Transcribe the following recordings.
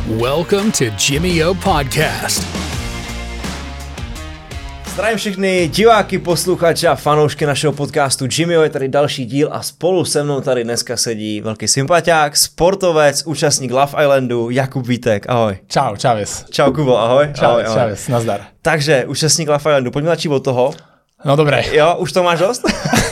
Welcome to Jimmy O Podcast. Zdravím všechny diváky, posluchače a fanoušky našeho podcastu Jimmy O, je tady další díl a spolu se mnou tady dneska sedí velký sympatiák, sportovec, účastník Love Islandu, Jakub Vítek, ahoj. Čau, čaves. Čau Kubo, ahoj. Čaves, ahoj. čaves, nazdar. Takže, účastník Love Islandu, pojďme začít od toho. No dobré. Jo, už to máš dost?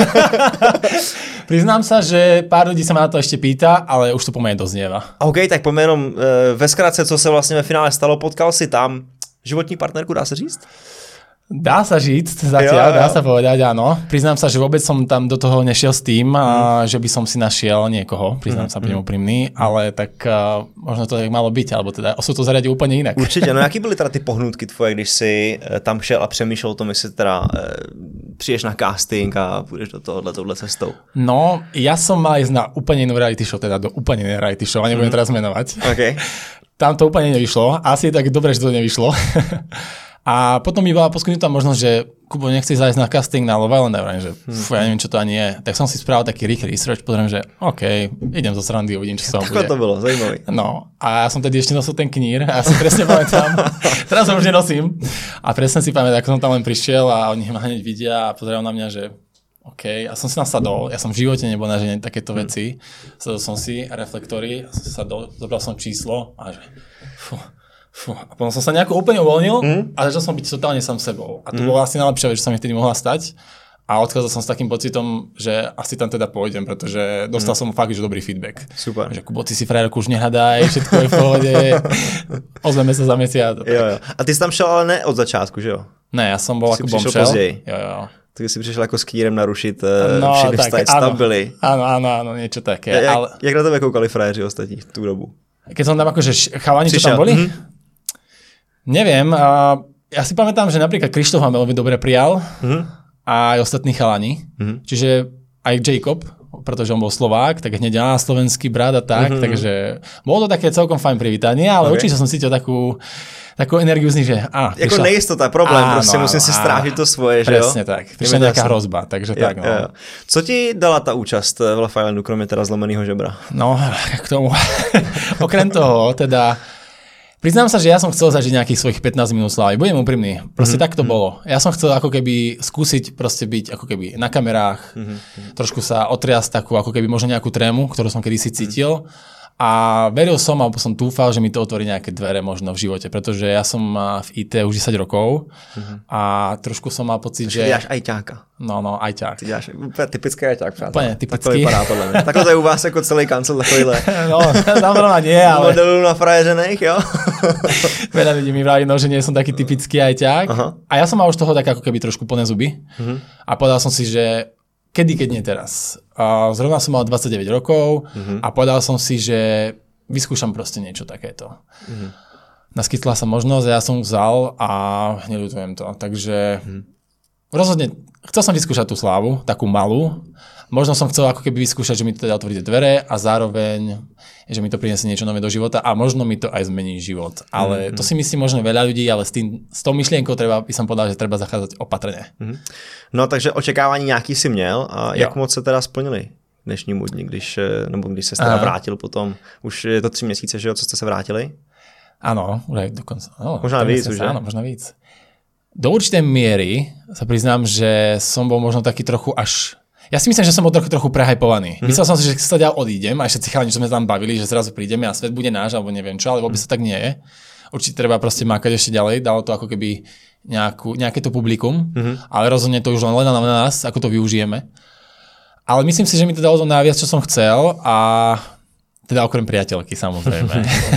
Priznám sa, že pár lidí se ma na to ještě pýta, ale už to poměrně doznieva. OK, tak pojďme jenom ve zkratce, co se vlastně ve finále stalo, potkal si tam životní partnerku, dá se říct? Dá sa říct zatiaľ, dá sa povedať, áno. Priznám sa, že vôbec som tam do toho nešiel s tým, že by som si našiel niekoho, priznám sa, budem úprimný, ale tak možno to tak malo byť, alebo teda osud to zariadil úplne inak. Určitě, no jaký byly teda ty pohnutky tvoje, když si tam šel a přemýšlel o tom, jestli teda přijdeš na casting a půjdeš do touhle cestou? No, ja som mal ísť na úplne inú reality show, teda do úplne inej reality show, a nebudem teraz menovať. Okay. Tam to úplne nevyšlo, asi je tak dobre, že to nevyšlo. A potom mi bola poskytnutá možnosť, že Kubo, nechceš zájsť na casting na Love Island, že ja neviem, čo to ani je. Tak som si spravil taký rýchly research, pozriem, že OK, idem zo srandy, uvidím, čo sa bude. Takhle to bylo, zajímavý. No, a ja som tedy ešte nosil ten knír a ja si presne pamätám, teraz ho už nenosím. A presne si pamätám, ako som tam len prišiel a oni ma hneď vidia a pozerajú na mňa, že OK, ja som si nasadol, ja som v živote nebol na žene takéto veci. Sadol som si reflektory, sadol, zobral som číslo a že a potom som sa nejako úplne uvoľnil a začal som byť totálne sám sebou. A to bolo asi najlepšia vec, čo sa mi vtedy mohla stať. A odchádzal som s takým pocitom, že asi tam teda pôjdem, pretože dostal som fakt, že dobrý feedback. Super. Že Kubo, ty si frajerku už nehľadaj, všetko je v pohode. Ozveme sa za mesiac. Jo. A ty jsi tam šel ale ne od začátku, že jo? Ne, ja som bol ako bombshell. Jo. Tak si přišel jako s kýrem narušit všechny tak, vztahy, tam byli. Áno, niečo také. Jak na tebe koukali frajeři ostatní v tú dobu? Keď som tam akože chalani, čo tam boli? Neviem, ja si pamätám, že napríklad Krištof ma veľmi dobre prijal a aj ostatní chalani. Čiže aj Jacob, pretože on bol Slovák, tak hneď slovenský brat a tak, takže bolo to také celkom fajn privítanie, ale určite som cítil takú energiu z nich, že jako nejistota, problém, prostě musím si strážit to svoje, že jo? Presne tak, prišla nejaká hrozba, takže tak. No. Co ti dala ta účast v Love Islandu, kromě teda zlomeného žebra? No, k tomu, okrem toho, teda priznám sa, že ja som chcel zažiť nejakých svojich 15 minút slávy. Budem úprimný. Proste tak to bolo. Ja som chcel ako keby skúsiť proste byť ako keby na kamerách, trošku sa otriasť takú ako keby možno nejakú trému, ktorú som kedysi cítil. A veril som, alebo som dúfal, že mi to otvorí nejaké dvere možno v živote, pretože ja som v IT už 10 rokov a trošku som mal pocit, že... Ty děláš ajťáka. No, ajťák. Ty děláš úplně typický ajťák, přátelé. Úplně typický. Tak to vypadá podle mě. Takhle to je u vás jako celý kancel takovýhle. No, samozrejme nie, ale... Modelů na frajeřených, jo? Veľa ľudí mi vraví, že nie som taký typický ajťák. A ja som mal už toho tak ako keby trošku plné zuby. A povedal som si, že keď nie teraz. Zrovna som mal 29 rokov a povedal som si, že vyskúšam proste niečo takéto. Naskytla sa možnosť a ja som vzal a neľutujem to. Takže rozhodne chcel som vyskúšať tú slávu, takú malú. Možno som chcel ako keby vyskúšať, že mi to teda otvorí dvere a zároveň, že mi to prinesie niečo nové do života a možno mi to aj zmení život. Ale to si myslí možno veľa ľudí, ale s tou myšlienkou by som povedal, že treba zachádzať opatrne. No takže očekávání nějaký si měl a jak moc se teda splnili dnešnímu dni, když se teda vrátil potom. Už je to 3 měsíce, že jo, co jste se vrátili? Áno, už aj dokonca. Možná víc už, áno, možno víc. Do určitej miery sa priznám, že som bol možno taký trochu až... Ja si myslím, že som bol trochu prehajpovaný. Myslel som si, že sa ďal odídem a ešte chalani, čo sme tam bavili, že zrazu prídeme a svet bude náš, alebo neviem čo, ale vôbec to tak nie je. Určite treba proste mákať ešte ďalej, dalo to ako keby nejaké to publikum, ale rozhodne to už len na nás, ako to využijeme. Ale myslím si, že mi to dalo to najviac, čo som chcel a teda okrem priateľky, samozrejme.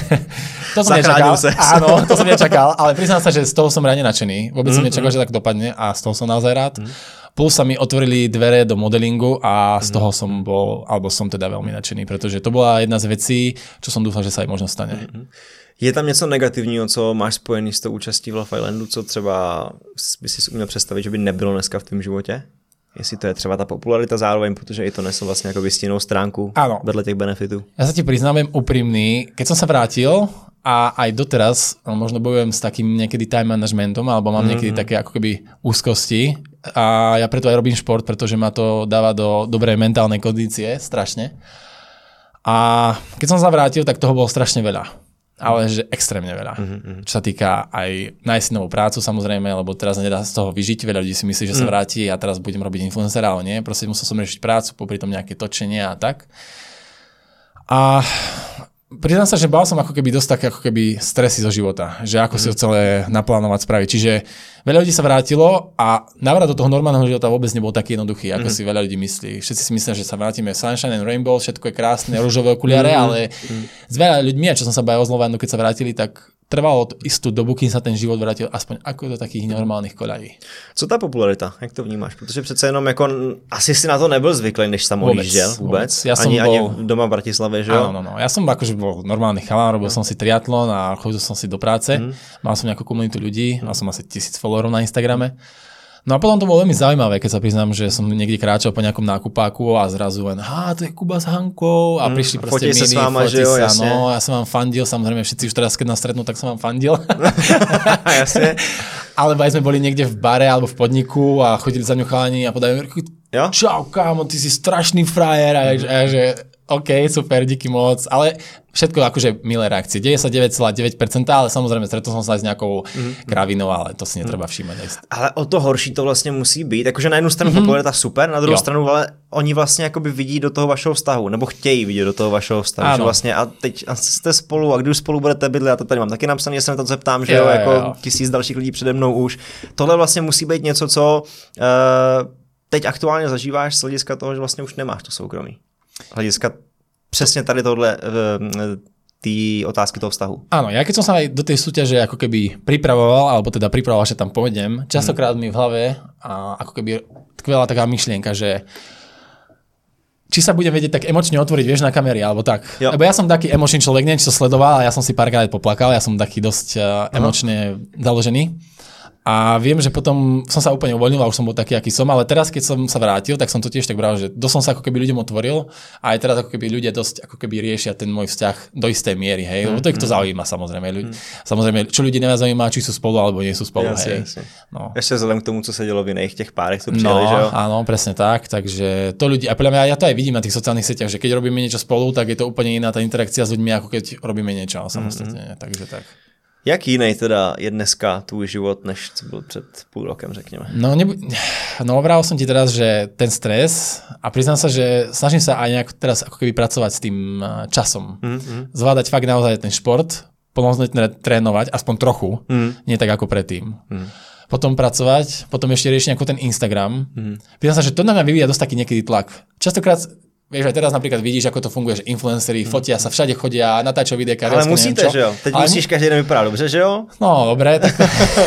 To som nečakal. Áno, to som nečakal, ale priznám sa, že z toho som reálne nadšený. Vôbec som nečakal, že tak dopadne a z toho som naozaj rád. Plus sa mi otvorili dvere do modelingu a z toho som som teda veľmi nadšený, pretože to bola jedna z vecí, čo som dúfal, že sa aj možno stane. Je tam něco negativního, co máš spojený s tou účastí v Love Islandu, co třeba by si uměl představit, že by nebylo dneska v tvém životě? Jestli to je třeba ta popularita zároveň, protože i to nesl vlastně jako stinnou stránku vedle těch benefitů. Ja sa ti priznám, úprimný, keď som sa vrátil a aj doteraz možno bojujem s takým niekedy time managementom, alebo mám niekedy také ako keby úzkosti a ja preto aj robím šport, pretože ma to dáva do dobrej mentálnej kondície, strašne. A keď som sa vrátil, tak toho bolo strašne veľa. Ale že extrémne veľa. Čo sa týka aj nájsť novú prácu samozrejme, lebo teraz nedá z toho vyžiť. Veľa ľudí si myslí, že sa vráti a teraz budem robiť influencera, ale nie. Proste musel som riešiť prácu, popri tom nejaké točenie a tak. A priznám sa, že bál som ako keby dosť také ako keby stresy zo života, že ako si ho celé naplánovať spraviť. Čiže veľa ľudí sa vrátilo a návrat do toho normálneho života vôbec nebol taký jednoduchý, ako si veľa ľudí myslí. Všetci si myslia, že sa vrátime Sunshine and Rainbow, všetko je krásne, ružové okuliare, ale s veľa ľuďmi, a čo som sa bavil s Lovanu, keď sa vrátili, tak trvalo istú dobu, kým sa ten život vrátil aspoň ako do takých normálnych koľají. Co ta popularita? Jak to vnímáš? Protože přece jenom jako asi si na to nebyl zvyklý, než tam odjížděl vůbec. Ja ani doma v Bratislave, že jo? Áno. Ja som akože bol normálny chalán, robil som si triatlon a chodil som si do práce. Mal som nejakú komunitu ľudí, mal som asi 1000 followerov na Instagrame. No a potom to bolo veľmi zaujímavé, keď sa priznám, že som niekde kráčal po nejakom nákupáku a zrazu len, to je Kuba s Hankou a prišli proste mini, fotí sa, no, ja som vám fandil, samozrejme všetci už teraz, keď nás stretnú, tak som vám fandil. Jasne. Alebo aj sme boli niekde v bare alebo v podniku a chodili za mňu chalani a podajú, čau kámo, ty si strašný frajer a že OK, super, díky moc, ale všetko akože milé reakcie. 99,9%, ale samozrejme stretol som sa aj s nejakou kravinou, ale to si netreba všímať. Ale o to horší to vlastně musí být. Jakože na jednu stranu popularita super, na druhou stranu, ale oni vlastně jakoby vidí do toho vašeho vztahu, nebo chtějí vidět do toho vašeho vztahu. Že vlastně a teď jste spolu a když spolu budete bydlet, já to tady mám taky napsané, se na to zeptám, že jo, jako 1000 dalších lidí přede mnou už. Tohle vlastně musí být něco, co teď aktuálně zažíváš z hlediska toho, že vlastně už nemáš to soukromí. Hlediska presne tady tohle tí otázky toho vztahu. Áno, ja keď som sa aj do tej súťaže ako keby pripravoval, alebo teda pripravoval, že tam pôjdem, častokrát mi v hlave a ako keby tkvela taká myšlienka, že či sa budem vedieť tak emočne otvoriť, vieš, na kamery, alebo tak. Jo. Lebo ja som taký emočný človek, neviem, či to sledoval, a ja som si párkrát poplakal, ja som taký dosť emočne založený. A viem, že potom som sa úplne uvoľnil a už som bol taký, aký som, ale teraz, keď som sa vrátil, tak som to tiež tak bral, že dosť som sa ako keby ľuďom otvoril a aj teraz ako keby ľudia dosť ako keby riešia ten môj vzťah do istej miery, hej, lebo to ich to zaujíma samozrejme. Samozrejme, čo ľudí neviac zaujíma, či sú spolu alebo nie sú spolu, hej. No. Ešte vzhľadom k tomu, co sa dělo v iných těch párech, tu přijeli, že jo? Áno, presne tak, takže to ľudí, a podľa mňa ja to aj vidím na tých sociálnych sieťach, že keď robíme niečo spolu, tak je to úplne iná tá interakcia s ľuďmi, ako keď robíme niečo samostatne, takže tak. Jak jiný teda je dneska tvůj život, než co byl před půl rokem, řekněme? No vral som ti teraz, že ten stres a priznám sa, že snažím sa aj nejak teraz ako keby pracovať s tým časom. Zvládať fakt naozaj ten šport, plnohodnotne trénovať, aspoň trochu, nie tak ako predtým. Potom pracovať, potom ešte riešiť ako ten Instagram. Priznám sa, že to na mňa vyvíja dosť taký niekedy tlak. Častokrát vieš, aj teraz napríklad vidíš, ako to funguje, že influenceri fotia sa, všade chodia, natáčajú videjka. Ale musíte, že jo? Teď musíš každý den vypadat dobře, že jo? No, dobré, tak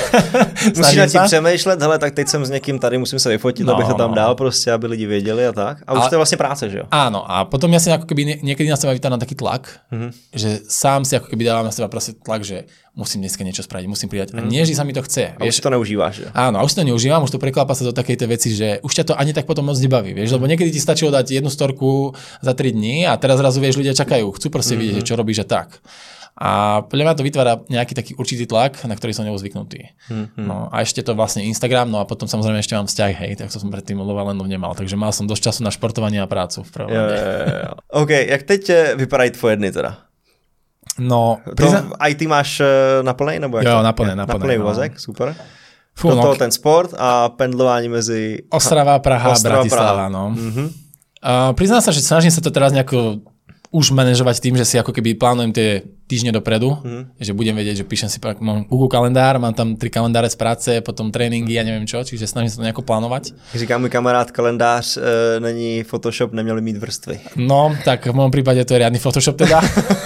musíš nad tím přemýšlet, hele, tak teď jsem s někým tady, musím se vyfotit, abych to tam dal prostě, aby lidi věděli a tak. A už to je vlastně práce, že jo? Áno, a potom ja si ako keby niekedy na seba vytávam taký tlak, že sám si ako keby dávam na seba proste tlak, že musím dneska niečo spraviť, musím pridať. A nie, že sa mi to chce. A už to neužíváš, že? Áno, a už to neužívam, už to preklápa sa do takej tej veci, že už ťa to ani tak potom moc nebaví, vieš, lebo niekedy ti stačilo dať jednu storku za 3 dní a teraz zrazu vieš, ľudia čakajú, chcú proste vidieť, čo robíš a tak. A podľa mňa to vytvára nejaký taký určitý tlak, na ktorý som nebol zvyknutý. No a ešte to vlastne Instagram, no a potom samozrejme ešte mám vzťah, hej, tak to som predtým Love Islandu nemal, takže mal som dosť času na športovanie a prácu v prvom rade. OK, jak teď vypadají tvoje dny teda? No, IT máš na plnej, nebo jak? Jo, na plnej úvazek, super. Fú, do toho ten sport a pendlování mezi Ostrava, Praha, Bratislava, no. Priznám sa, že snažím sa to teraz nejako už manažovať tým, že si ako keby plánujem tie týždne dopredu, že budem vedieť, že píšem si, mám Google kalendár, mám tam 3 kalendáre z práce, potom tréninky a neviem čo, čiže snažím sa to nejako plánovať. Říká můj kamarád, kalendář není Photoshop, neměli mít vrstvy. No, tak v mojom prípade to je riadny Photoshop teda.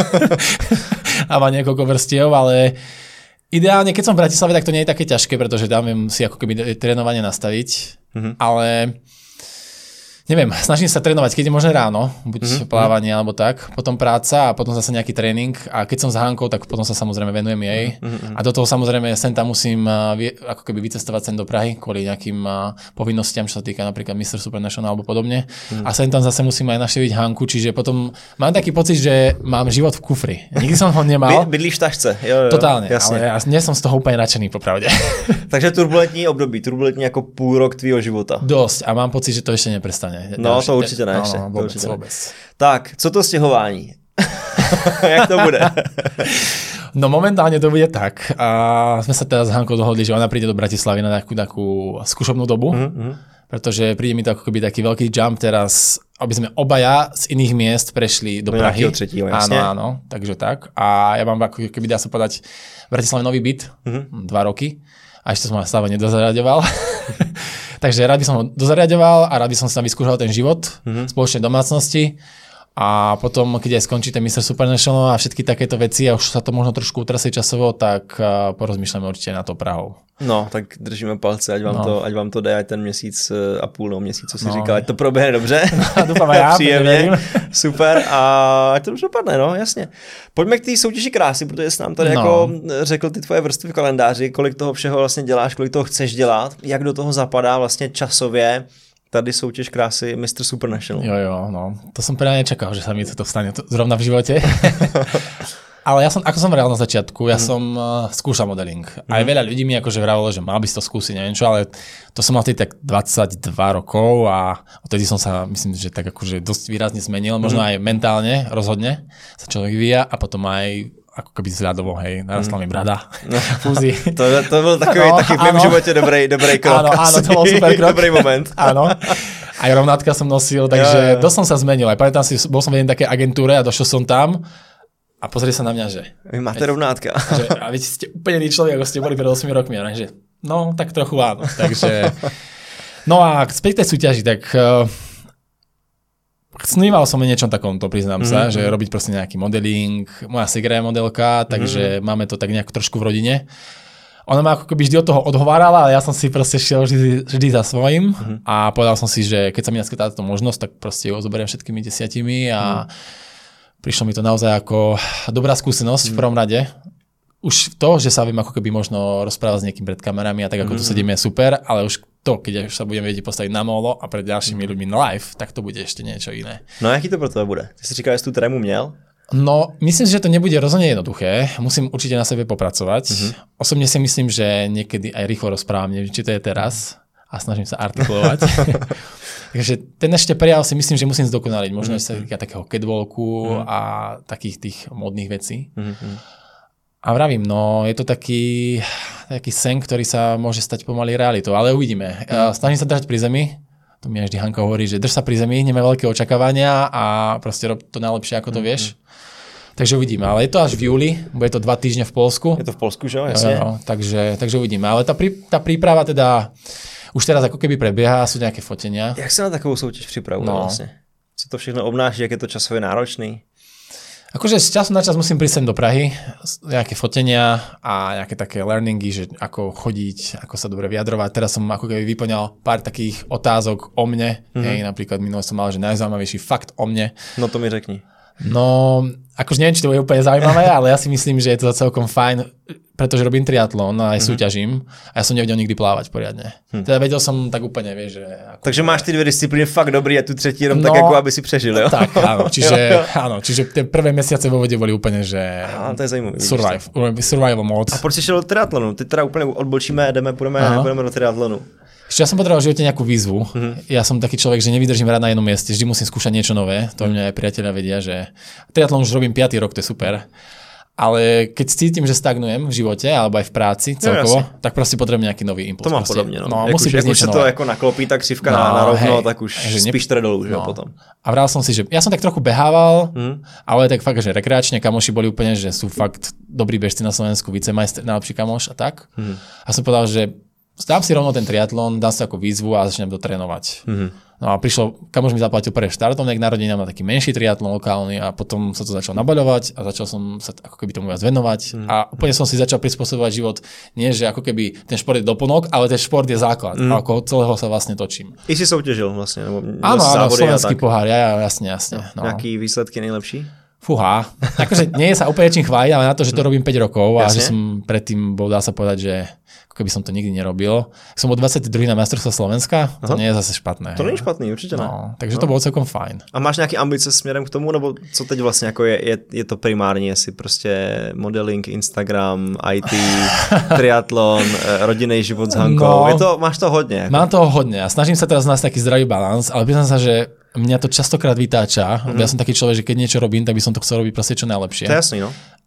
A má niekoľko vrstiev, ale ideálne, keď som v Bratislave, tak to nie je také ťažké, pretože tam viem si ako keby trénovanie nastaviť, ale neviem, snažím sa trénovať, keď je možné ráno, buď plávanie alebo tak, potom práca a potom zase nejaký tréning a keď som s Hankou, tak potom sa samozrejme venujem jej a do toho samozrejme sem tam musím ako keby vycestovať sem do Prahy kvôli nejakým povinnostiam, čo sa týka napríklad Mr. Supernational alebo podobne a sem tam zase musím aj navštíviť Hanku, čiže potom mám taký pocit, že mám život v kufri. Nikdy som ho nemal. Bydlíš v tašce. Jo, totálne, jasne. Ale ja nie som z toho úplne nadšený, popravde. Takže turbulentní období, turbulentní ako půl rok tvýho života. Dosť a mám pocit, že to ešte neprestane. No, to určitě ne. No, vůbec. Tak, co to stěhování? Jak to bude? No momentálne to bude tak. A sme sa teraz s Hankou dohodli, že ona príde do Bratislavy na takú skúšobnú dobu, pretože príde mi to ako keby taký veľký jump teraz, aby sme obaja z iných miest prešli do Prahy. Áno, takže tak. A ja mám ako keby, dá sa povedať, v Bratislave nový byt, 2 roky. A ešte som ho stále nedozariaďoval. Takže rád by som ho dozariaďoval a rád by som si tam vyskúšal ten život spoločnej domácnosti. A potom, keď aj skončí ten Mr. Supernational a všetky takéto veci a už sa to možno trošku utrasie časovo, tak porozmýšľame určite na to Prahou. No, tak držíme palce, ať vám to jde, ať ten měsíc a půl měsíc, co si říkal, ať to proběhne dobře. Doufám a já. Příjemně, super a ať to dobře dopadne, no, jasně. Pojďme k té soutěži krásy, protože jsi nám tady jako řekl ty tvoje vrstvy v kalendáři, kolik toho všeho vlastně děláš, kolik toho chceš dělat, jak do toho zapadá vlastně časově tady soutěž krásy Mr. Supernational. Jo, no. To som teda nečakal, že sa mi to stane zrovna v živote. Ale ja som, ako som vral na začiatku, ja som skúšal modeling. Aj veľa ľudí mi akože vravilo, že mal by si to skúsiť, neviem čo, ale to som mal vtedy tak 22 rokov a odtedy som sa, myslím, že tak akože dosť výrazne zmenil, možno aj mentálne, rozhodne sa človek vyvíja a potom aj ako keby zľadovo, hej, narastla mi brada, fúzy. To byl takový taky v mém životě dobrý krok. Áno, to bol super krok. Dobrý moment. Áno. Aj rovnátka som nosil, takže dosť som sa zmenil. Aj pamätám si, bol som v jednej takej agentúre a došiel som tam a pozrie sa na mňa, že... Vy máte rovnátka. A viete, ste úplne iný človek, ako ste boli pred 8 rokmi. A že no, tak trochu áno. Takže... No a späť tej súťaži, tak... Sníval som o niečom takomto, priznám sa, že robiť proste nejaký modeling. Moja segra je modelka, takže máme to tak nejak trošku v rodine. Ona ma ako keby vždy od toho odhovárala, ale ja som si proste šiel vždy za svojím a povedal som si, že keď sa mi naskytá táto možnosť, tak proste ho zoberiem všetkými 10 a prišlo mi to naozaj ako dobrá skúsenosť v prvom rade. Už to, že sa viem ako keby možno rozprávať s niekým pred kamerami a tak ako tu sedíme je super, ale už to, keď už sa budeme vedieť postaviť na molo a pred ďalšími ľuďmi na live, tak to bude ešte niečo iné. No a jaký to pro teba bude? Ty si říkal, že tú trému měl? No, myslím si, že to nebude rozhodne jednoduché. Musím určite na sebe popracovať. Osobne si myslím, že niekedy aj rýchlo rozprávam, neviem, či to je teraz a snažím sa artikulovať. Takže ten ešte prejav si myslím, že musím zdokonaliť. Možno sa týka takého catwalku a takých tých modných vecí. A vravím, no je to taký sen, ktorý sa môže stať pomaly realitou, ale uvidíme. Snažím sa držať pri zemi, to mi vždy Hanka hovorí, že drž sa pri zemi, nemá veľké očakávania a proste rob to najlepšie, ako to vieš. Takže uvidíme, ale je to až v júli, bude to 2 týždne v Polsku. Je to v Polsku, že jo, jasne. Takže uvidíme, ale tá príprava teda už teraz ako keby prebieha, sú nejaké fotenia. Jak sa na takovou soutěž připravuje vlastne? Co to všechno obnáší, jak je to časově náročný? Akože z času na čas musím prísť sem do Prahy, nejaké fotenia a nejaké také learningy, že ako chodiť, ako sa dobre vyjadrovať. Teraz som ako keby vyplňal pár takých otázok o mne. Hej, napríklad minule som mal, že najzaujímavejší fakt o mne. No to mi řekni. No, akože neviem, či to bude úplne zaujímavé, ale ja si myslím, že je to celkom fajn, pretože robím triatlon a aj súťažím a ja som nevedel nikdy plávať poriadne. Teda vedel som tak úplne, vieš, že... Ako... Takže máš ty 2 disciplíny fakt dobrý a tu třetí jenom tak, jako aby si přežil, jo? Tak, áno, čiže tie prvé mesiace vo vode boli úplne, že... To je zajímavé. Survival mode. A proč si šel do triatlonu? Ty teda úplne odbočíme, půjdeme do triatlonu. Ešte ja som potreboval v živote nejakú výzvu. Ja som taký človek, že nevydržím rád na jednom mieste, vždy musím skúšať niečo nové. To mňa aj priatelia vedia, že triatlon už robím 5. rok, to je super. Ale keď cítim, že stagnujem v živote alebo aj v práci celkovo, tak prostě potrebujem nejaký nový impuls. To mám podobne, no. Musí byť niečo nové. To jako naklopí ta křivka na rovno, tak už spíš teda dolů, že potom. A vral som si, že ja som tak trochu behával, ale tak fakt, že rekreačne kamoši boli úplne, že sú fakt dobrí bežci na Slovensku, vicemajster, najlepší kamoš a tak. A som povedal, že dám si rovno ten triatlon, dám si ako výzvu a začnem to trénovať. No a kamoš mi zaplatil prvý štartovnek narodinám na taký menší triatlon lokálny a potom sa to začalo nabaľovať a začal som sa ako keby tomu viac venovať a úplne som si začal prispôsobovať život. Nie, že ako keby ten šport je doplnok, ale ten šport je základ. A okolo celého sa vlastne točím. I si soutěžil vlastne? Áno, slovenský pohár, jasne. No. Jaký výsledky nejlepší? Fúha, akože nie je sa úplne čím chváliť, ale na to, že to robím 5 rokov a že som predtým bol, dá sa povedať, že ako keby som to nikdy nerobil. Som bol 22. na majstrovstvá Slovenska, to nie je zase špatné. To nie je špatný, určite ne. No, takže to bolo celkom fajn. A máš nejaké ambice směrem k tomu, nebo co teď vlastně jako je to primárně, jestli prostě modeling, Instagram, IT, triatlon, rodinný život s Hankou, máš to hodně. Jako. Mám toho hodně a snažím sa teraz nájsť taký zdravý balans, ale priznám sa, že mňa to častokrát vytáča. Ja som taký človek, že keď niečo robím, tak by som to chcel robiť proste čo najlepšie. To je jasný, no.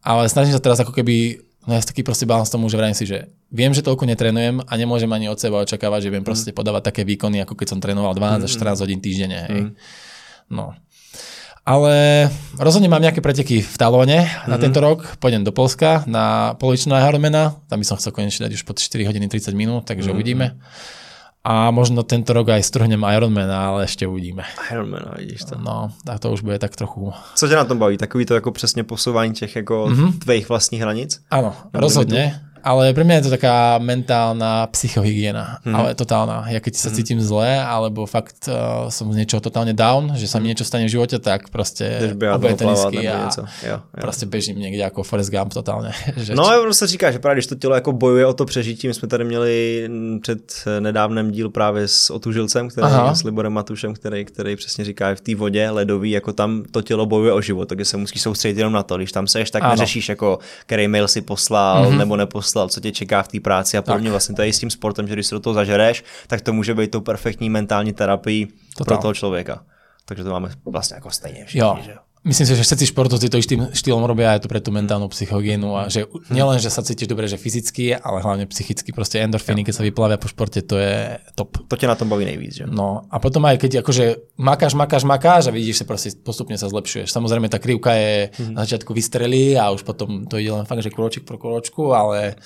Ale snažím sa teraz ako keby nájsť taký proste balans tomu, že vrajím si, že viem, že toľko netrénujem a nemôžem ani od seba očakávať, že viem proste podávať také výkony, ako keď som trénoval 12 až 14 hodín týždenne. Hej. No. Ale rozhodne mám nejaké preteky v Talóne na tento rok. Pôjdem do Polska na polovičného Ironmana. Tam by som chcel konečne dať už pod 4 hodiny 30 minút, takže uvidíme. A možno tento rok aj strhnem Ironmana, ale ešte uvidíme. Ironmana, vidíš to. No, a to už bude tak trochu... Co tě na tom baví? Takový to jako přesně posouvání těch jako tvých vlastních hranic? Áno, rozhodne. Ale pre mňa je to taká mentálna psychohygiena, ale totálna. Ja keď sa cítim zle, alebo fakt som z niečoho totálne down, že sa mi niečo stane v živote, tak proste obejem tenisky a prostě bežím někde jako Forrest Gump totálně. No a se říká, že právě když to tělo jako bojuje o to přežití, my jsme tady měli před nedávnem díl právě s Otužilcem, s Liborem Matušem, který přesně říká, v té vodě ledový, jako tam to tělo bojuje o život, takže se musíš soustředit jenom na to, když tam seš, tak neřešíš jako, který mail si poslal nebo neposlal, co tě čeká v té práci a podobně. Vlastně to je i s tím sportem, že když se do toho zažereš, tak to může být tou perfektní mentální terapií pro toho člověka. Takže to máme vlastně jako stejně všichni, že jo. Myslím si, že všetci športovci to istým štýlom robia aj to pre tú mentálnu psychohygienu a že nielen, že sa cítiš dobre, že fyzicky, ale hlavne psychicky, proste endorfíny, keď sa vyplavia po športe, to je top. To ťa na tom baví nejvíc, že? No a potom aj keď akože makáš a vidíš, že proste postupne sa zlepšuješ. Samozrejme tá krivka je na začiatku vystrelí a už potom to ide len fakt, že krôčik pro krôčku, ale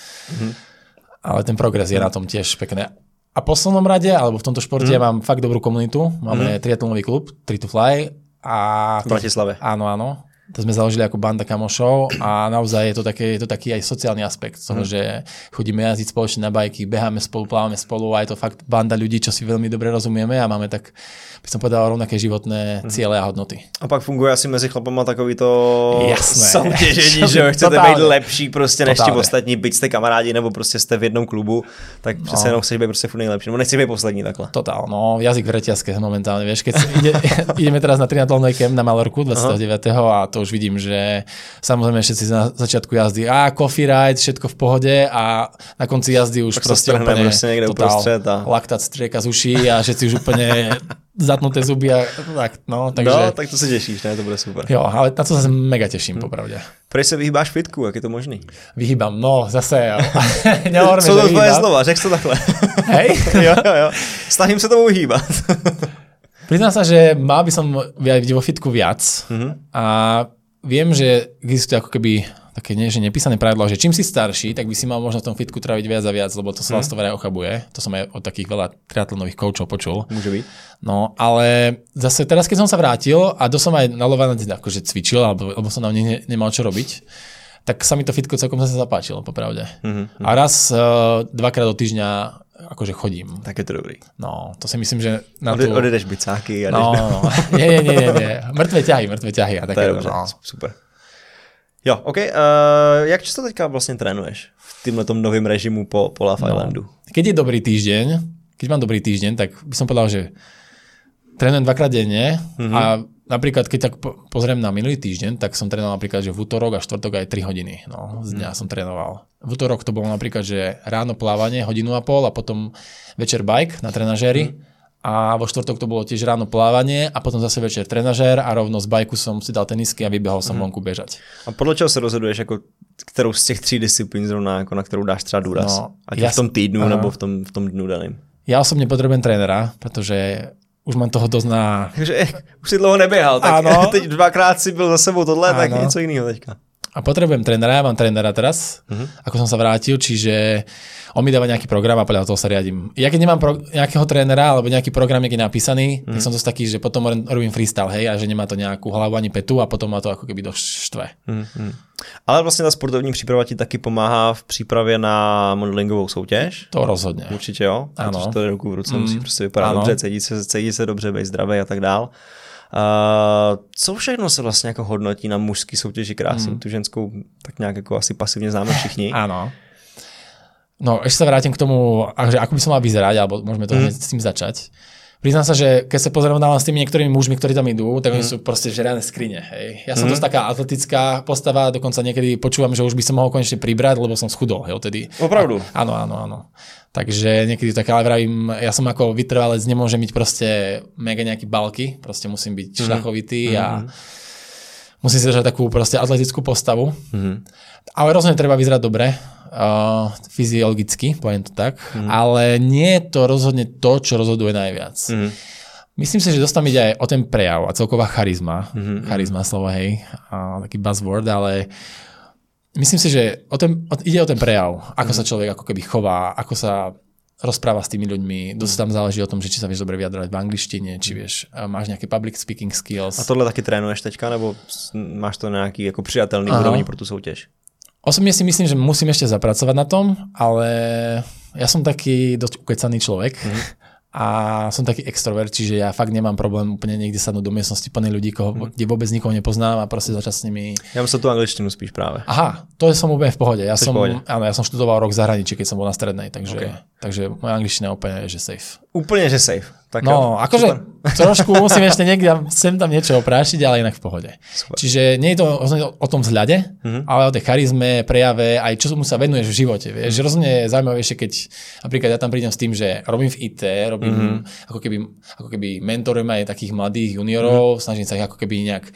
ten progres je na tom tiež pekné. A v poslednom rade, alebo v tomto športe ja mám fakt dobrú komunitu. Máme triatlonový klub, Tri to Fly. A v Bratislave. Áno. To sme založili ako banda kamošov a naozaj je to taký aj sociálny aspekt toho, že chodíme jazdiť spoločne na bajky, beháme spolu, plávame spolu a je to fakt banda ľudí, čo si veľmi dobre rozumieme a máme tak, by som povedal, rovnaké životné ciele a hodnoty. A pak funguje asi mezi chlapama takový to soutěžení, že chcete být lepší prostě než ti ostatní, byť jste kamarádi nebo prostě jste v jednom klubu, tak přece jenom chceš být prostě furt nejlepší, nebo nechceš být poslední takhle. Totál, no, jazyk v reťazke momentálne, vieš, keď ideme teraz na triatlonový kemp na Malorku 29. a to už vidím, že samozrejme všetci na začiatku jazdy coffee ride, všetko v pohode a na konci jazdy už prostě úplne totál laktát strieka z uší a všetci už úplne zatnuté zuby a tak, no, takže... No, tak to se těšíš, ne, to bude super. Jo, ale na to se mega těším, popravdě. Proč se vyhýbáš fitku, jak je to možný? Vyhýbám, no, zase, jo. Co to tvoje slova, řekl to takhle. Hej? jo. Snažím se tomu vyhýbat. Priznám sa, že mal by som vidieť vo fitku viac a viem, že existuje ako keby také nie, že nepísané pravidlo, že čím si starší, tak by si mal možno v tom fitku tráviť viac a viac, lebo to sa vás to vraj ochabuje. To som aj od takých veľa triatlonových koučov počul. Môže byť. No, ale zase teraz, keď som sa vrátil a som aj na Lovane akože cvičil, alebo som tam nemal čo robiť, tak sa mi to fitko celkom zase zapáčilo, popravde. A raz, dvakrát do týždňa akože chodím. Tak je to dobrý. No, to si myslím, že na Odjedeš bicáky a no. Nie. Mrtvé ťahy a také. To je dobře, super. Jo, OK. Jak často teďka vlastně trénuješ v týmhletom novým režimu po Love Islandu? Keď je dobrý týždeň, keď mám dobrý týždeň, tak by som povedal, že trénujem dvakrát denne a napríklad, keď tak pozriem na minulý týždeň, tak som trénoval napríklad, že v útorok a štvrtok aj 3 hodiny. No, z dňa som trénoval. V útorok to bolo napríklad, že ráno plávanie, 1,5 hodiny a potom večer bike na trenažéri. A vo štvrtok to bolo tiež ráno plávanie a potom zase večer trenažér a rovno z bajku som si dal tenisky a vybehol som vonku bežať. A podle čeho se rozhoduješ, jako kterou z těch 3 disciplín zrovna, jako na kterou dáš třeba důraz? No, ať v tom týdnu nebo v tom dnu daným? Ja osobne potrebujem trénera, protože už mám toho dosť na... Takže už si dlouho neběhal, tak teď 2krát si byl za sebou tohle, tak něco jiného teďka. A potrebujem trénera, ja mám trénera teraz, ako som sa vrátil, čiže on mi dáva nejaký program a podľa toho sa riadím. Ja keď nemám nejakého trénera alebo nejaký program niekde napísaný, tak som dosť taký, že potom robím freestyle, hej, a že nemá to nejakú hlavu ani petu a potom ma to ako keby dosť štve. Ale vlastně ta sportovní příprava ti taky pomáhá v přípravě na modelingovou soutěž? To rozhodně. Určitě jo, protože to je ruku v ruce, musí prostě vypadat dobře, cítit se dobře, být zdravý a tak dál. Co všechno se vlastně jako hodnotí na mužský soutěži krásy? Tu ženskou tak nějak jako asi pasivně známe všichni. Áno. No, ešte sa vrátim k tomu, že ako by som mal vyzerať, alebo môžeme to hneď s tým začať. Priznám sa, že keď sa pozriem s tými niektorými mužmi, ktorí tam idú, tak oni sú proste žiadne skrine. Hej. Ja som dosť taká atletická postava, dokonca niekedy počúvam, že už by som mohol konečne pribrať, lebo som schudol. Hej, tedy. Opravdu? Áno. Takže niekedy tak, ale vravím, ja som ako vytrvalec, nemôžem byť proste mega nejaký balky, proste musím byť šľachovitý a Musí si držať takú proste atletickú postavu. Ale rozhodne treba vyzerať dobre, fyziologicky, poviem to tak. Ale nie je to rozhodne to, čo rozhoduje najviac. Myslím si, že dosť tam ide aj o ten prejav a celková charizma. Charizma slovo, hej, taký buzzword, ale myslím si, že ide o ten prejav, ako sa človek ako keby chová, ako sa rozpráva s tými ľuďmi. Dosť tam záleží o tom, že či sa vieš dobre vyjadrovať v angličtine, či vieš, máš nejaké public speaking skills. A tohle taky trénuješ teďka, nebo máš to na nejaký jako přijatelný úrovni pro tu soutěž? Osobne si myslím, že musím ešte zapracovať na tom, ale ja som taký dosť ukecaný človek. A som taký extrovert, čiže ja fakt nemám problém úplne niekde sadnúť do miestnosti plnej ľudí, kde vôbec nikoho nepoznám a proste začať s nimi. Ja myslím tú angličtinu spíš práve. Aha, to som úplne v pohode. Ja som študoval rok v zahraničí, keď som bol na strednej, takže moja angličtina úplne je že safe. Úplne že safe. Tak no, akože trošku musím ešte niekde sem tam niečo oprášiť, ale inak v pohode. Super. Čiže nie je to o tom vzhľade, ale o tej charizme, prejave, aj čo mu sa venuješ v živote. Vieš, že rozhodne je zaujímavejšie, keď napríklad ja tam prídem s tým, že robím v IT, robím ako keby mentorujem aj takých mladých juniorov, snažím sa ich ako keby nejak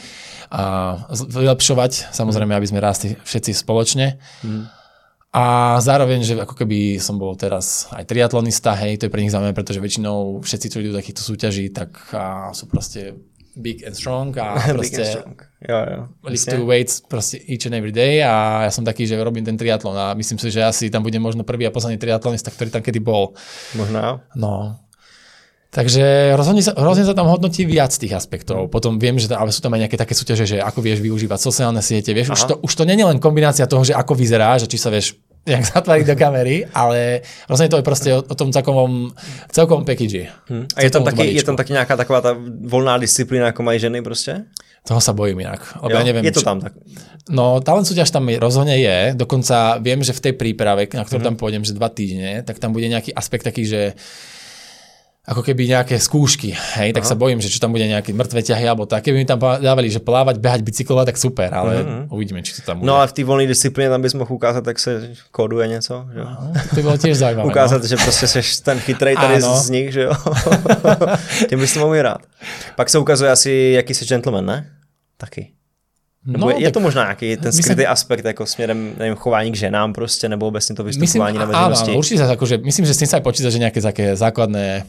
vylepšovať, samozrejme, aby sme rástli všetci spoločne. A zároveň, že ako keby som bol teraz aj triatlonista, hej, to je pre nich zaujímavé, pretože väčšinou všetci, čo idú do takýchto súťaží, tak sú proste big and strong a proste lift to weights proste each and every day a ja som taký, že robím ten triatlon a myslím si, že asi tam budem možno prvý a posledný triatlonista, ktorý tam kedy bol. Možná. No. Takže rozhodne sa tam hodnotí viac tých aspektov. Potom viem, že ale sú tam aj nejaké také súťaže, že ako vieš využívať sociálne siete. Vieš, už to nie je len kombinácia toho, že ako vyzeráš, že či sa vieš jak zatváriť do kamery, ale rozhodne to je proste o tom celkovom package. A je tam taky nějaká taková ta volná disciplína, ako mají ženy prostě? Toho sa bojím inak. Ja neviem, je to tam tak? No, talent súťaž tam rozhodne je. Dokonca viem, že v tej príprave, na ktorú tam pôjdem, že 2 týždne, tak tam bude nejaký aspekt taký, že ako keby nejaké skúšky, hej, tak sa bojím, že čo tam bude nejaké mŕtve ťahy alebo tak. Keby mi tam dávali, že plávať, behať, bicyklovať, tak super, ale uvidíme, či to tam bude. No a v té volné disciplíně tam bys mohl ukázat, jak se kóduje něco, že jo? To by bylo tiež zaujímavé. Ukázat, že prostě seš ten chytrej tady z nich, že jo? Tím bys to mohl hrát. Pak se ukazuje asi, jaký jsi gentleman, ne? Taky. Nebo je to možná nějaký ten skrytý aspekt jako směrem, nevím, chování k ženám prostě, nebo obecně to vystupování na veřejnosti? Áno, určite akože, myslím, že s tým sa aj počíta, že nejaké také základné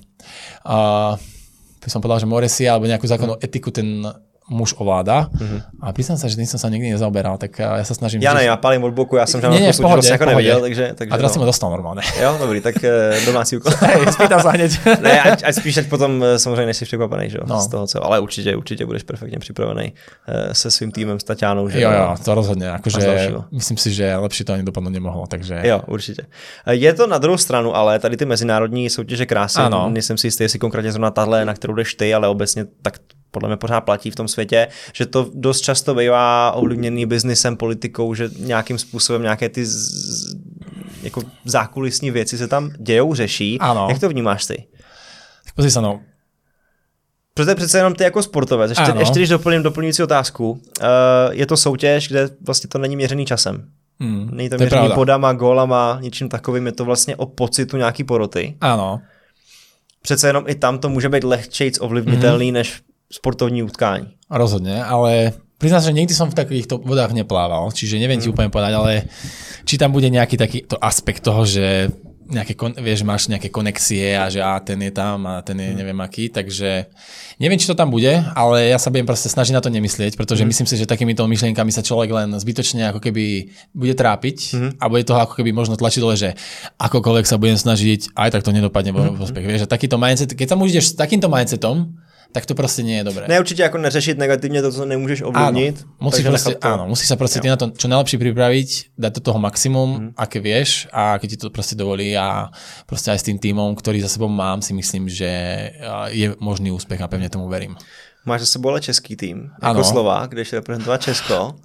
by som povedal, že moresia alebo nejakú základnú etiku ten muž ovláda. A priznám sa, že tým som sa nikdy nezaoberal, tak ja sa snažím... Ja palím od boku, ja som žádnou súťaž jako neviděl, takže a teraz si ma dostal normálne. Jo, dobrý, tak domácí úkol. Spýtam sa hneď. Ne, ať spíš potom samozřejmě nejsi překvapený, že jo, z toho co, ale určite budeš perfektně připravený se svým týmem, s Taťánou, že jo, to rozhodne, akože myslím si, že lepšie to ani dopadnout nemohlo, takže... Jo, určitě. Je to na druhou stranu, ale tady ty mezinárodní soutěže krásy, nejsem si jistý, jestli konkrétně zrovna tahle, na kterou jdeš ty, ale obecně tak podle mě pořád platí v tom světě, že to dost často bývá ovlivněný biznisem, politikou, že nějakým způsobem nějaké ty jako zákulisní věci se tam dějou, řeší. Ano. Jak to vnímáš ty? Tak pozri sa, no. Protože přece jenom ty jako sportovec. Ještě když doplním doplňující otázku, je to soutěž, kde vlastně to není měřený časem. Není to měřený bodama, gólama, ničím takovým, je to vlastně o pocitu nějaký poroty. Ano. Přece jenom i tam to může být lehčejc ovlivniteľný než sportovní utkání. Rozhodne, ale priznám, že nikdy som v takýchto vodách neplával, čiže neviem ti úplne povedať, ale či tam bude nejaký takýto aspekt toho, že nejaké, vieš, máš nejaké konexie a že ten je tam a ten je neviem aký, takže neviem, či to tam bude, ale ja sa budem proste snažiť na to nemyslieť, pretože myslím si, že takýmito myšlienkami sa človek len zbytočne ako keby bude trápiť a bude toho ako keby možno tlačiť dole, že akokoľvek sa budem snažiť, aj tak to nedopadne vo prospech. Vieš, a takýto mindset, keď sa ideš s takýmto mindsetom, tak to prostě nie je dobré. Ne, určitě jako neřešit negativně to, co nemůžeš ovlivnit. Musíš sa proste na to čo najlepšie pripraviť, dať do toho maximum, aké vieš a keď ti to proste dovolí a proste aj s tým týmom, ktorý za sebou mám, si myslím, že je možný úspech a pevne tomu verím. Máš za sebou ale český tým, jako Slovák, kde jdeš reprezentovat Česko.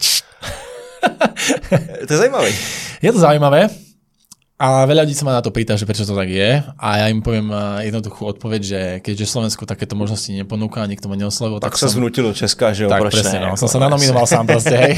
To je zajímavé. Je to zaujímavé. A veľa ľudí sa ma na to pýta, že prečo to tak je. A ja im poviem jednoduchú odpoveď, že keďže Slovensku takéto možnosti neponúka a nikto ma neoslovil, tak sa zvnútilo Česka, že jo, tak presne, no. Som sa nanominoval sám proste, hej.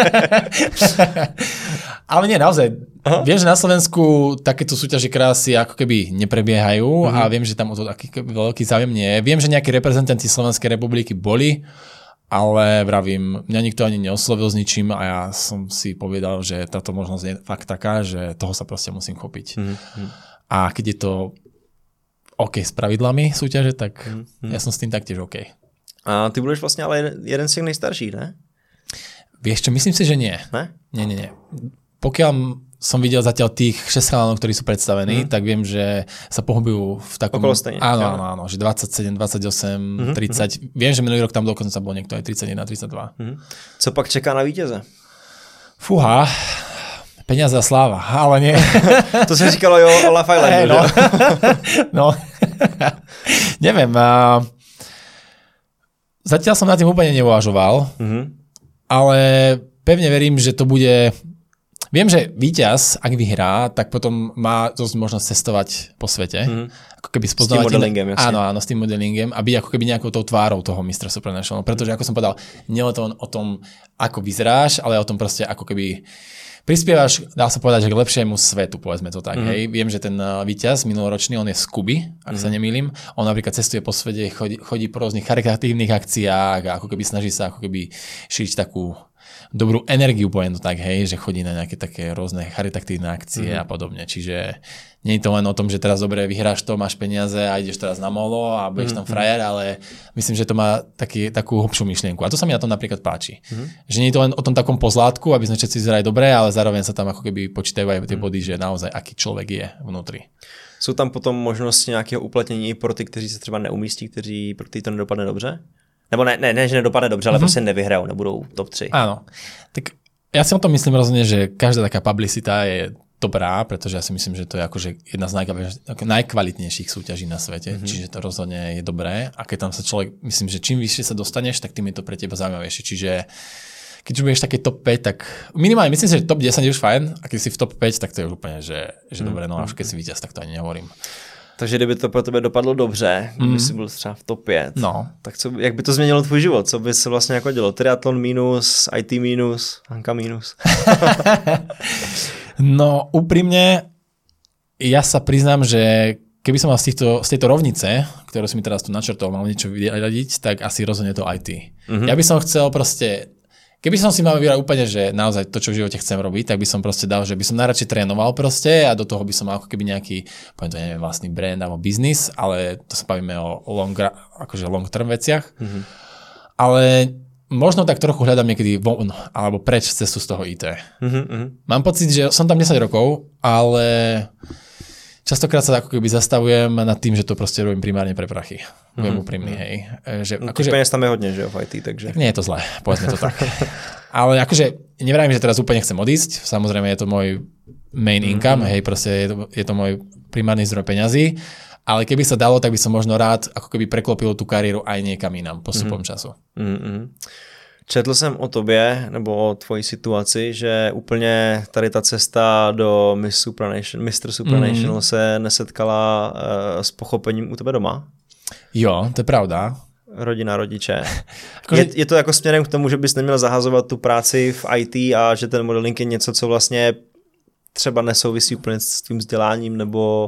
Ale nie, naozaj. Viem, že na Slovensku takéto súťaže krásy ako keby neprebiehajú a viem, že tam o to taký veľký záujem nie je. Viem, že nejakí reprezentanti Slovenskej republiky boli ale vravím, mňa nikto ani neoslovil s ničím a ja som si povedal, že táto možnosť je fakt taká, že toho sa proste musím chopiť. A keď je to OK s pravidlami súťaže, tak ja som s tým taktiež OK. A ty budeš vlastne ale jeden z těch nejstarších, ne? Vieš čo, myslím si, že nie. Ne? Nie. Pokiaľ som videl zatiaľ tých 6 chalanov, ktorí sú predstavení, tak viem, že sa pohybujú v takom... Okolo stejne. Áno, že 27, 28, 30. Viem, že minulý rok tam dokonca bol niekto aj 31, 32. Co pak čeká na vítěze? Fúha, peniaze a sláva, ale nie. To sa říkalo jo o Love Islandu, no. No. Neviem. Zatiaľ som na tým úplne neuvažoval, ale pevne verím, že to bude... Viem, že víťaz, ak vyhrá, tak potom má dosť možnosť cestovať po svete. Ako keby spoznávať... S tým modelingem, jasne. Áno, s tým modelingem a byť ako keby nejakou tou tvárou toho Mr. Supranational. Pretože, ako som povedal, nie je to o tom, ako vyzeráš, ale o tom proste, ako keby prispievaš, dá sa povedať, že k lepšiemu svetu, povedzme to tak. Hej. Viem, že ten víťaz minuloročný, on je z Kuby, ak sa nemýlim. On napríklad cestuje po svete, chodí po rôznych charitatívnych akciách a ako keby snaží sa ako keby šíriť takú dobrú energiu, poviem to tak, hej, že chodí na nejaké také rôzne charitatívne akcie a podobne. Čiže nie je to len o tom, že teraz dobre vyhráš to, máš peniaze a ideš teraz na molo a budeš tam frajer, ale myslím, že to má takú hlbšiu myšlienku. A to sa mi na tom napríklad páči. Že nie je to len o tom takom pozlátku, aby sme všetci vyzerali dobre, ale zároveň sa tam ako keby počítajú aj tie body, že naozaj aký človek je vnútri. Jsou tam potom možnosti nějakého uplatnění pro ty, kteří se třeba neumístí, pro ty to nedopadne dobře? Nebo ne, že nedopadne dobře, ale prostě nevyhrajou, nebudou top 3. Áno. Tak ja si o tom myslím rozhodne, že každá taká publicita je dobrá, pretože ja si myslím, že to je akože jedna z najkvalitnejších súťaží na svete, čiže to rozhodne je dobré. A keď tam sa človek, myslím, že čím vyššie sa dostaneš, tak tým je to pre teba zaujímavejšie. Čiže keď už budeš také top 5, tak minimálne myslím si, že top 10 je už fajn, a keď si v top 5, tak to je už úplne, že dobré, no a už keď si víťaz, tak to ani nehovorím. Takže kdyby to pro tebe dopadlo dobře, kdyby jsi byl třeba v top 5, tak jak by to změnilo tvůj život? Co by se vlastně jako dělo? Triatlon minus, IT minus, Hanka minus? No úprimne, ja sa priznám, že keby som mal z tejto rovnice, ktorú si mi teraz tu načrtol, mal niečo vyradiť, tak asi rozhodne to IT. Ja by som chcel proste... Keby som si mal vybrať úplne, že naozaj to, čo v živote chcem robiť, tak by som proste dal, že by som najradšej trénoval proste a do toho by som mal ako keby nejaký, poviem to neviem, vlastný brand alebo biznis, ale to sa bavíme o long term veciach. Ale možno tak trochu hľadám niekedy von alebo preč cestu z toho IT. Mám pocit, že som tam 10 rokov, ale častokrát sa ako keby zastavujem nad tým, že to proste robím primárne pre prachy. Budem úprimný, hej. Akože peněz tam je hodne, že v IT, takže... Tak nie je to zlé, povedzme to tak. Ale akože nevravím, že teraz úplne chcem odísť, samozrejme je to môj main income, hej, proste je to môj primárny zdroj peňazí, ale keby sa dalo, tak by som možno rád ako keby preklopil tú kariéru aj niekam inám postupom času. Četl jsem o tobě, nebo o tvojí situaci, že úplně tady ta cesta do Mr. Supranational se nesetkala s pochopením u tebe doma? Jo, to je pravda. Rodina, rodiče. Je to jako směrem k tomu, že bys neměl zahazovat tu práci v IT a že ten modeling je něco, co vlastně třeba nesouvisí úplně s tvým vzděláním nebo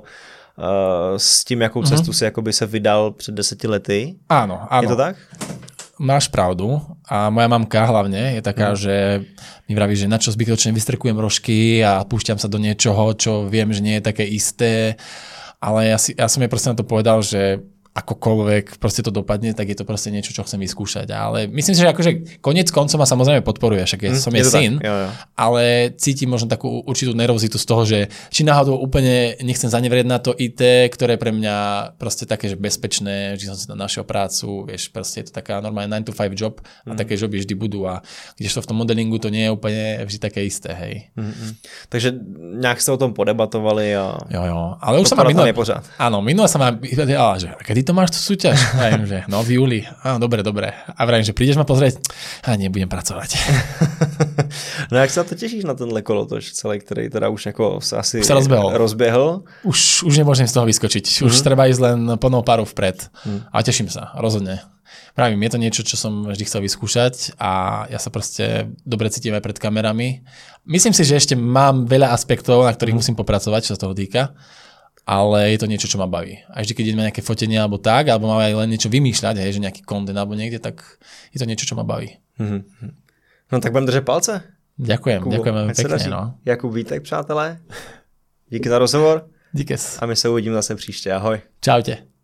s tím, jakou cestu si jakoby se vydal před 10 lety? Áno. Je to tak? Máš pravdu a moja mamka hlavne je taká, že mi vraví, že na čo zbytočne vystrkujem rožky a púšťam sa do niečoho, čo viem, že nie je také isté, ale ja som jej proste na to povedal, že akokoľvek proste to dopadne, tak je to proste niečo, čo chcem vyskúšať. Ale myslím si, že akože koniec koncov ma samozrejme podporuje, však som jej syn, ale cítim možno takú určitú nervozitu z toho, že či náhodou úplne nechcem zanevrieť na to IT, ktoré je pre mňa proste také, že bezpečné, že som si tam našiel prácu, vieš, proste je to taká normálne 9 to 5 job a také joby vždy budú a kdežto v tom modelingu to nie je úplne vždy také isté, hej. Takže nejak ste o tom podebatovali a... Jo, ale už sa ma minule sa ma vyvedela, že kedy to máš tú súťaž? Vravím, že no v júli. Dobre. A vravím, že prídeš ma pozrieť? Nebudem pracovať. No jak sa to tešíš na tenhle kolotoč celý, ktorý teda už ako sa asi už sa rozbehol? Už nemôžem z toho vyskočiť. Už treba ísť len plnou párou vpred. A teším sa, rozhodne. Vravím, je to niečo, čo som vždy chcel vyskúšať a ja sa proste dobre cítim aj pred kamerami. Myslím si, že ešte mám veľa aspektov, na ktorých musím popracovať, čo sa toho týka. ale je to niečo, čo ma baví. A vždy, keď ideme nejaké fotenie alebo tak, alebo máme aj len niečo vymýšľať, hej, že nejaký content alebo niekde, tak je to niečo, čo ma baví. No tak budem držet palce. Ďakujem, Kubo, ďakujem veľmi ať se pekne. daří. No. Jakub Vítek, přátelé. Díky za rozhovor Díkes. a my se uvidíme zase příště. Ahoj. Čaute.